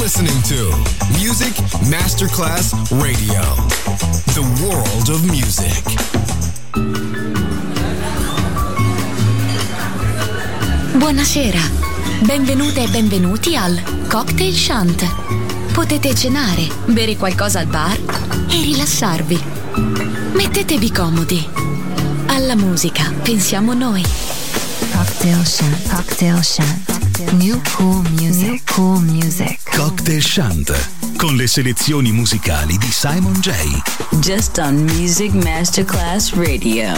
listening to Music Masterclass Radio, the world of music. Buonasera, benvenute e benvenuti al Cocktail Shant. Potete cenare, bere qualcosa al bar e rilassarvi. Mettetevi comodi. Alla musica pensiamo noi. Cocktail Shant, Cocktail Shant. New cool music, new cool music. Cocktail Shant, con le selezioni musicali di Simon J. Just on Music Masterclass Radio.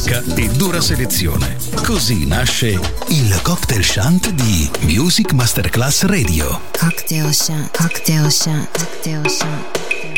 ricerca e dura selezione. Così nasce il Cocktail Shant di Music Masterclass Radio. Cocktail Shant, Cocktail Shant, Cocktail Shant.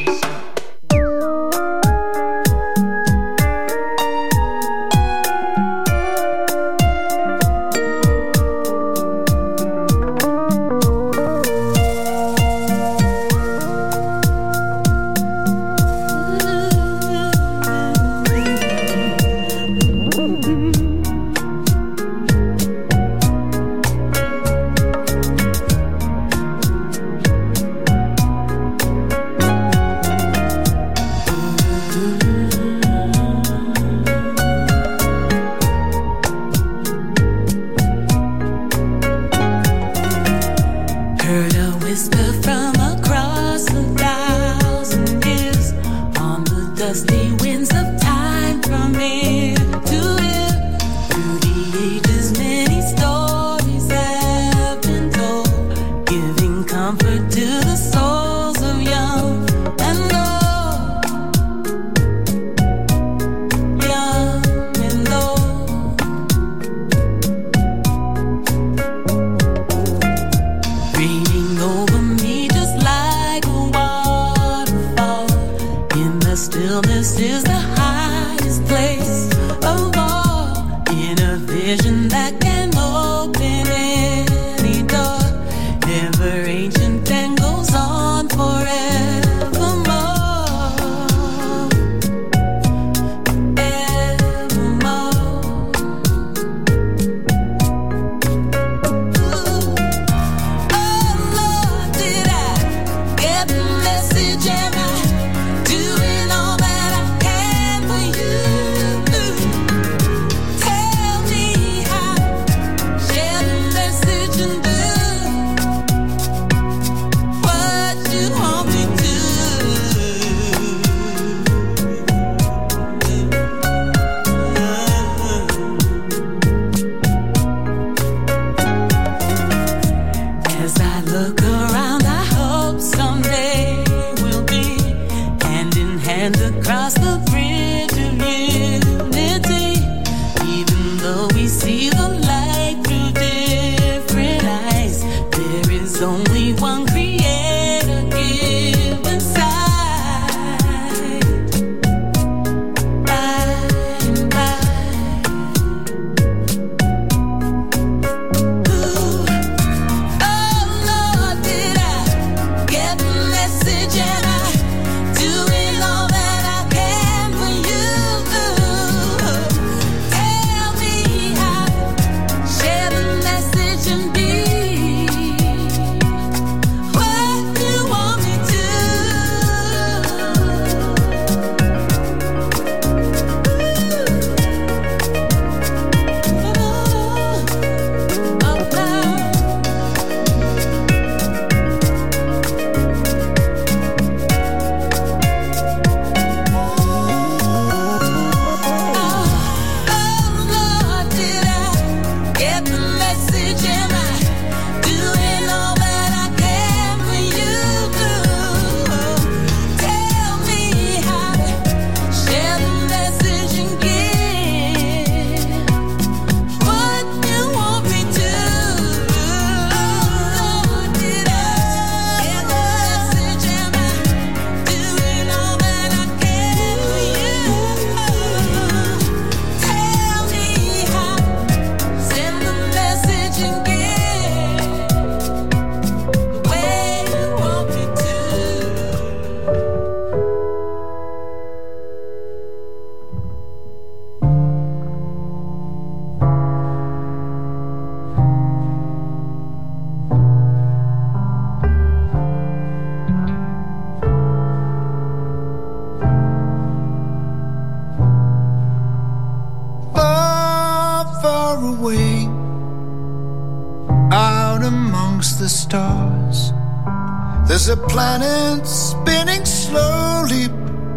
the stars. There's a planet spinning slowly,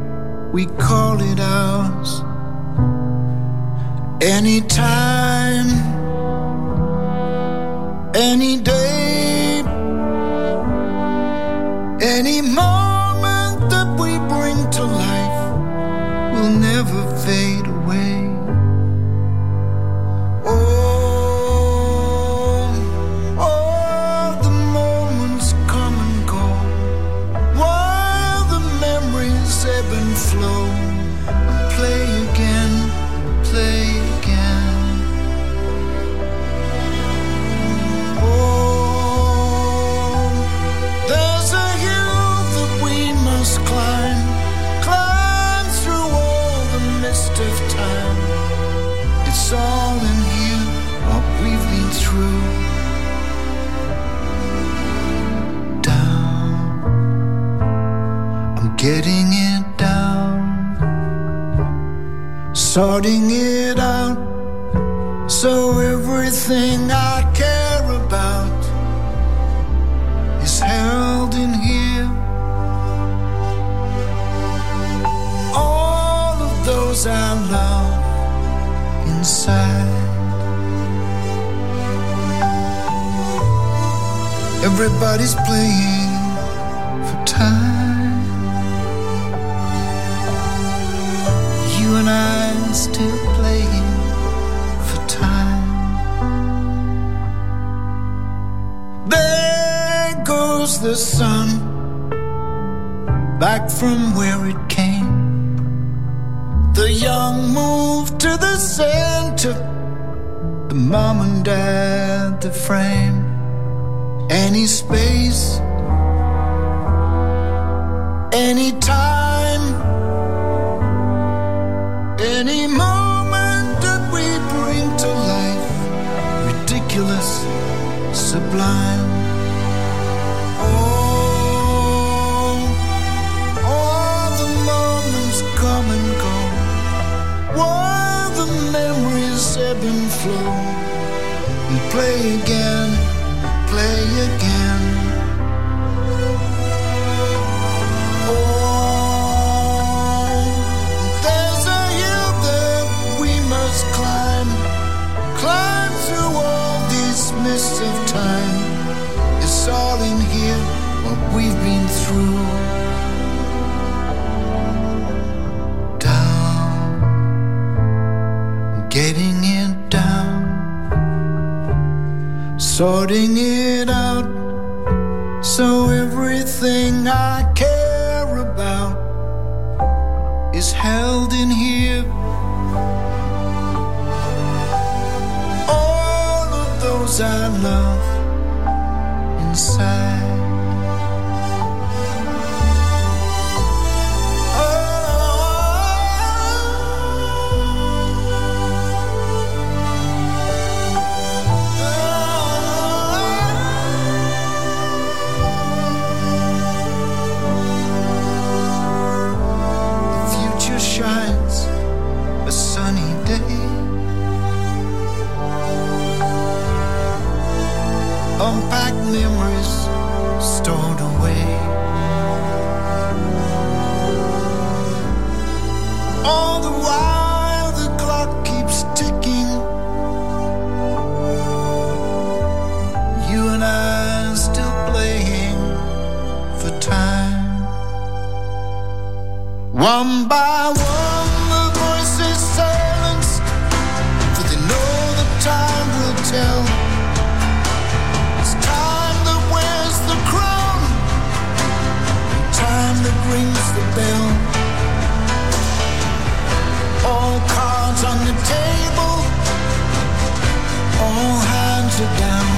we call it ours. Anytime, any day, any moment that we bring to life will never fade away. getting it down, sorting it out, so everything I care about is held in here. All of those I love inside. Everybody's playing for time. You and I still playing for time. There goes the sun, back from where it came. The young move to the center, the mom and dad, the frame. Any space, any time, any moment that we bring to life, ridiculous, sublime. Oh, all the moments come and go, while the memories ebb and flow. We play again, play again. Oh, there's a hill that we must climb, climb through all these mists of time. It's all in here, what we've been through. Down, getting it down, sorting it out, so everything I care about is held in here. All of those I love inside. Unpacked memories stored away. All the while the clock keeps ticking. You and I still playing for time. One by one the voices silence, for they know the time will tell. That rings the bell. All cards on the table, all hands are down.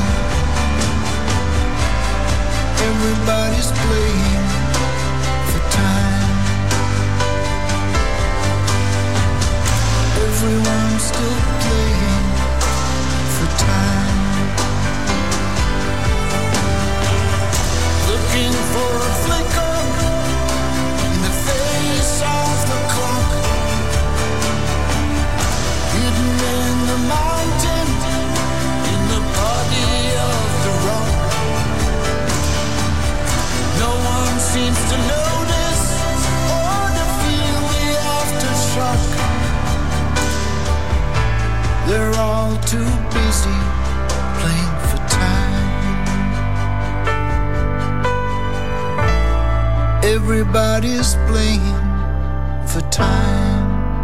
Everybody's playing for time. Everyone's still playing for time. Looking for a flicker of the clock, hidden in the mountain, in the body of the rock. No one seems to notice or to feel the aftershock. They're all too busy playing for time. Everybody's playing for time.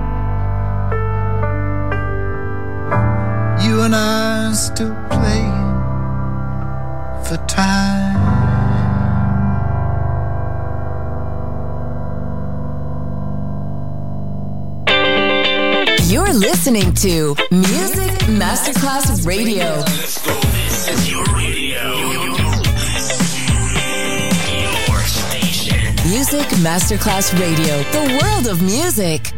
You and I still playing for time. You're listening to Music Masterclass Radio. Let's go. This is your radio. Your station. Music Masterclass Radio. The world of music.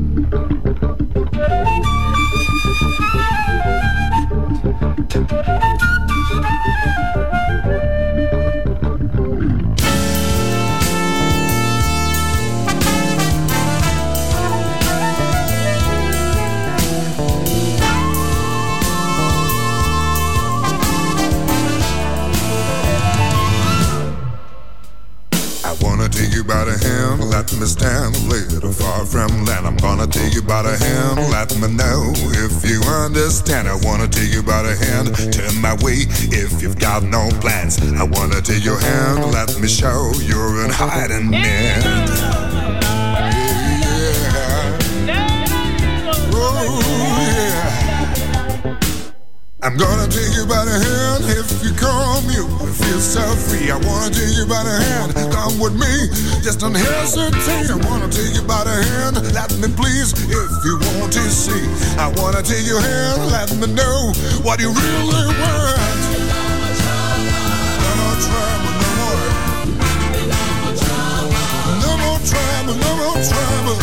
Oh, yeah. me stand a little far from land. I'm gonna take you by the hand, let me know if you understand. I wanna take you by the hand, turn my way if you've got no plans. I wanna take your hand, let me show you're in hiding man. I'm gonna take you by the hand. If you come, you will feel so free. I wanna take you by the hand. Come with me, just don't hesitate. I wanna take you by the hand. Let me please, if you want to see. I wanna take your hand. Let me know what you really want. No more trouble, no more. No more trouble, no more trouble.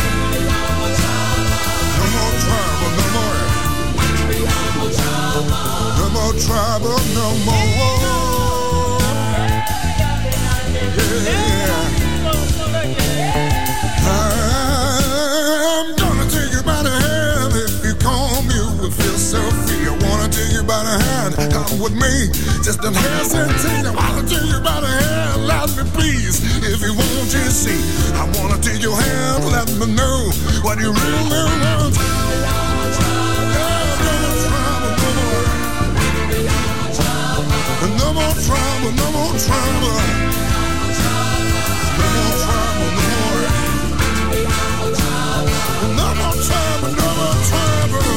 No more trouble, no more. No more trouble, no more. Yeah. I'm gonna take you by the hand. If you come, you will feel so free. I wanna take you by the hand. Come with me, just don't hesitate. I wanna take you by the hand. Let me please, if you want to see. I wanna take your hand. Let me know what you really want. No more trouble, no more trouble. No more trouble, no more. No more trouble, no more trouble.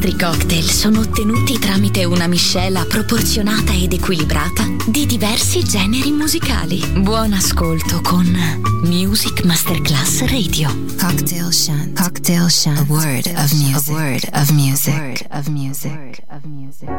nostri cocktail sono ottenuti tramite una miscela proporzionata ed equilibrata di diversi generi musicali. Buon ascolto con Music Masterclass Radio. Cocktail Shant. Cocktail Shant. A word of music. A word of music. A word of music. A word of music.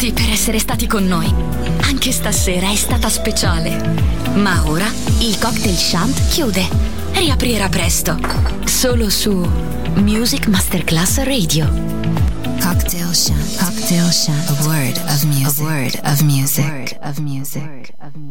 tutti per essere stati con noi. Anche stasera è stata speciale. Ma ora il Cocktail Shant chiude. Riaprirà presto. Solo su Music Masterclass Radio. Cocktail Shant. Cocktail Shant. A word of music. A word of music.